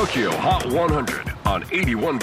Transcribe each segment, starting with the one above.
TOKYO HOT 100 on 81.3 J-WAVE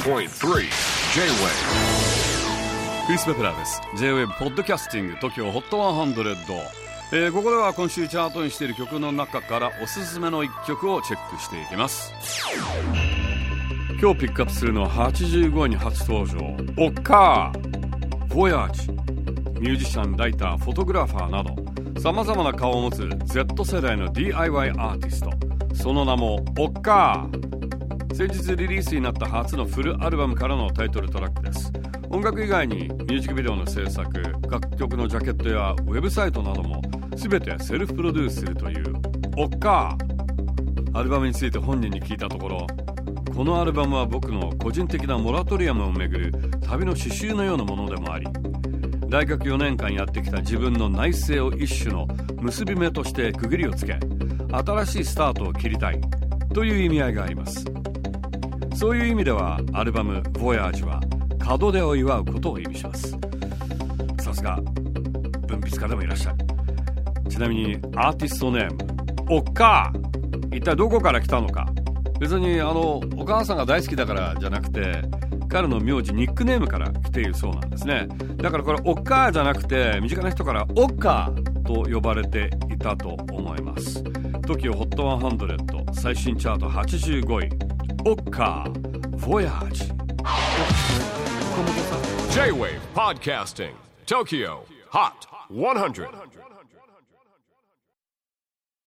クリス・ベプラーです。 J-WAVE ポッドキャスティング TOKYO HOT 100、ここでは今週チャートにしている曲の中からおすすめの1曲をチェックしていきます。今日ピックアップするのは85位に初登場、オッカー、ボヤージ。ミュージシャン、ライター、フォトグラファーなど様々な顔を持つ Z 世代の DIY アーティスト、その名もオッカー。先日リリースになった初のフルアルバムからのタイトルトラックです。音楽以外にミュージックビデオの制作、楽曲のジャケットやウェブサイトなども全てセルフプロデュースするというオッカー。アルバムについて本人に聞いたところ、このアルバムは僕の個人的なモラトリアムをめぐる旅の詩集のようなものでもあり、大学4年間やってきた自分の内省を一種の結び目として区切りをつけ、新しいスタートを切りたいという意味合いがあります。そういう意味ではアルバム「ボヤージ」は門出を祝うことを意味します。さすが文筆家でもいらっしゃる。ちなみにアーティストネームオッカー、一体どこから来たのか。別にお母さんが大好きだからじゃなくて、彼の名字、ニックネームから来ているそうなんですね。だからこれオッカーじゃなくて、身近な人からオッカーと呼ばれていたと思います。 TOKYO HOT 100最新チャート85位、オッカー、ボヤージ。 J-WAVE PODCASTING TOKYO HOT 100